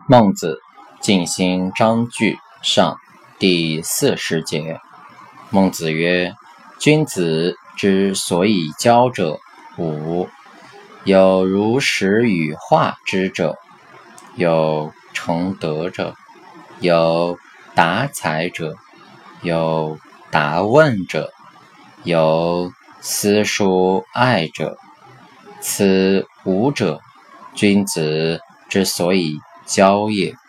孟子尽心章句上第40节。孟子曰：君子之所以交者五，有如实与化之者，有成德者，有达财者，有达问者，有私疏爱者。此五者，君子之所以交也。